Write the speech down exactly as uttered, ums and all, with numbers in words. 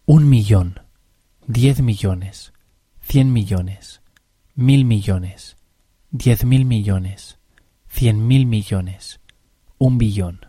Un millón, diez millones, cien millones, mil millones, diez mil millones, cien mil millones, un billón.